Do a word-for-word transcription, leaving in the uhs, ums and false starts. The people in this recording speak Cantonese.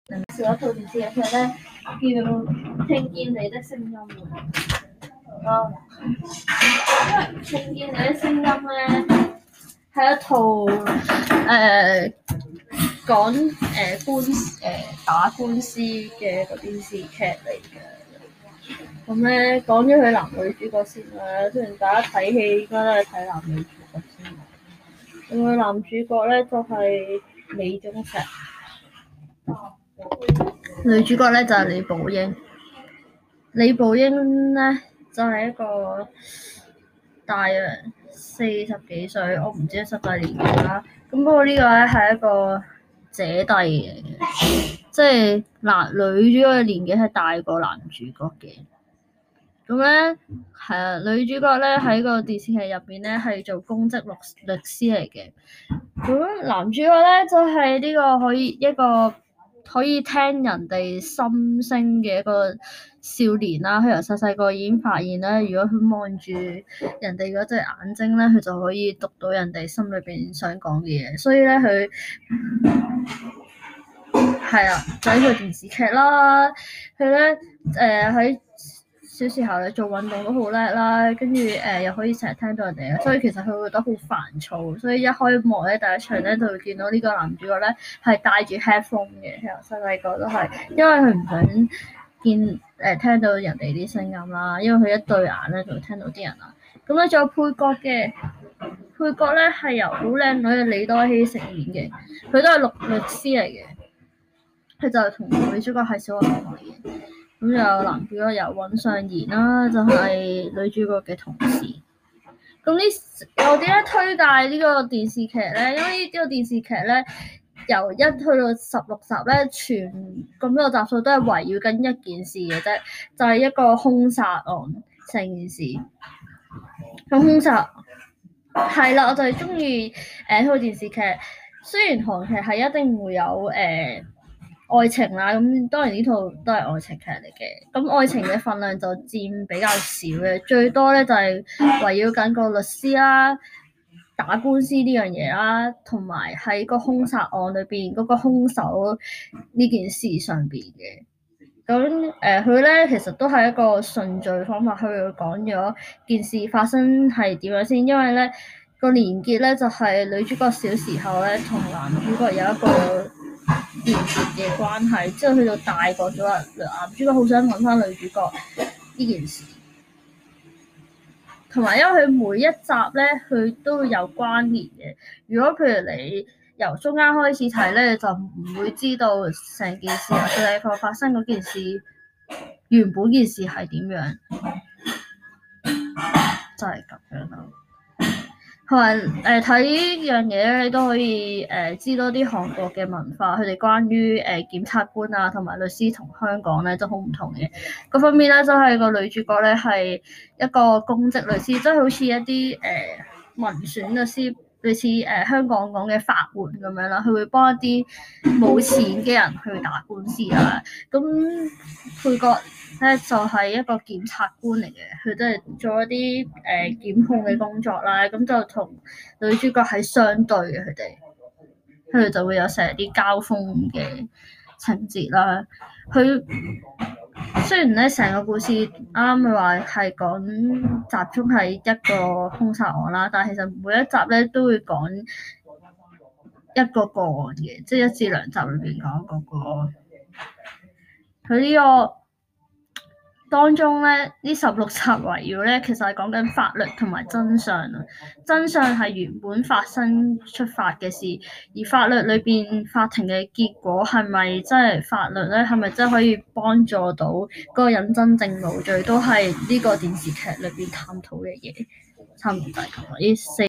有一套電視劇咧叫《聽見你的聲音》啊，聽見你的聲音咧係一套誒、呃、講誒、呃、官誒、呃、打官司嘅個電視劇嚟嘅。咁咧講咗佢男女主角先啦，雖然大家睇戲應該都係睇男女主角先。咁佢男主角咧就係、是、李宗碩。女主角咧就係、是、李寶英，李寶英咧就係、是、一個大約四十幾歲，我唔知實際年紀啦。咁不過呢個咧係一個姐弟嚟嘅，即係男女主角嘅年紀係大過男主角嘅。咁咧係啊，女主角咧喺個電視劇入邊咧係做公職律律師嚟嘅。咁男主角咧就係、是、呢個可以一個。可以聽人哋心聲嘅一個少年啦，佢由細細個已經發現咧，如果佢望住人哋嗰隻眼睛咧，佢就可以讀到人哋心裏邊想講嘅嘢。所以咧，佢係啊，就係、是、個電視劇啦。佢咧誒喺小時候咧做運動都好叻啦，跟住誒又可以成日聽到人哋，所以其實佢會覺得好煩躁，所以一開幕咧第一場咧就會見到呢個男主角咧係戴住 headphone 嘅，由細細個都係，因為佢唔想見誒、呃、聽到人哋啲聲音啦，因為佢一對眼咧就會聽到啲人啦。咁咧仲有配角嘅，配角咧係由好靚女嘅李多熙飾演嘅，佢都係律律師嚟嘅，佢就係同女主角係小學同學嚟嘅。咁有男主角由尹尚賢啦，就係、是、女主角嘅同事。咁呢，我點解推介呢個電視劇咧？因為呢個電視劇咧，由一去到十六集咧，全咁多個集數都係圍繞緊一件事嘅啫，就係、是、一個兇殺案成件事。咁兇殺係啦，我就係中意誒呢套電視劇。雖然韓劇係一定會有誒。呃愛情啦，咁當然呢套都係愛情劇嚟嘅。咁愛情嘅份量就佔比較少嘅，最多咧就係圍繞緊個律師啦、打官司呢樣嘢啦，同埋喺個兇殺案裏邊嗰個兇手呢件事上邊嘅。咁誒，佢、呃、咧其實都係一個順序方法去講咗件事發生係點樣先，因為咧個連結咧就係、是、女主角小時候咧同男主角有一個連結嘅關係，之後去到大個咗啦，男主角好想揾翻女主角呢件事，同埋因為佢每一集咧，佢都有關聯嘅。如果譬如你由中間開始睇咧，就唔會知道成件事或者你個發生嗰件事原本件事係點樣，就係、是、咁樣啦。同埋誒睇呢樣嘢咧，你都可以誒、呃、知多啲韓國嘅文化，佢哋關於誒、呃、檢察官啊同埋律師同香港咧都好唔同嘅。嗰方面咧，就係、是、個女主角咧係一個公職律師，即、就、係、是、好似一啲誒、呃、民選律師，類似誒、呃、香港講嘅法官咁樣啦。佢會幫一啲冇錢嘅人去打官司啦。咁配角咧就係、是、一個檢察官嚟嘅，佢都係做一啲誒、呃、檢控嘅工作啦。咁就同女主角係相對嘅，佢哋佢哋就會有成日啲交鋒嘅情節啦。佢雖然咧成個故事啱啱咪話係講集中係一個兇殺案啦，但係其實每一集咧都會講一個個案嘅，即係一至兩集裏邊講一個個案。佢呢個當中咧，呢十六集圍繞咧，其實係講緊法律同埋真相啊。真相係原本發生出發嘅事，而法律裏邊法庭嘅結果係咪真係法律咧？係咪真係可以幫助到嗰個人真正無罪？都係呢個電視劇裏邊探討嘅嘢。差唔多就係咁啦，呢四。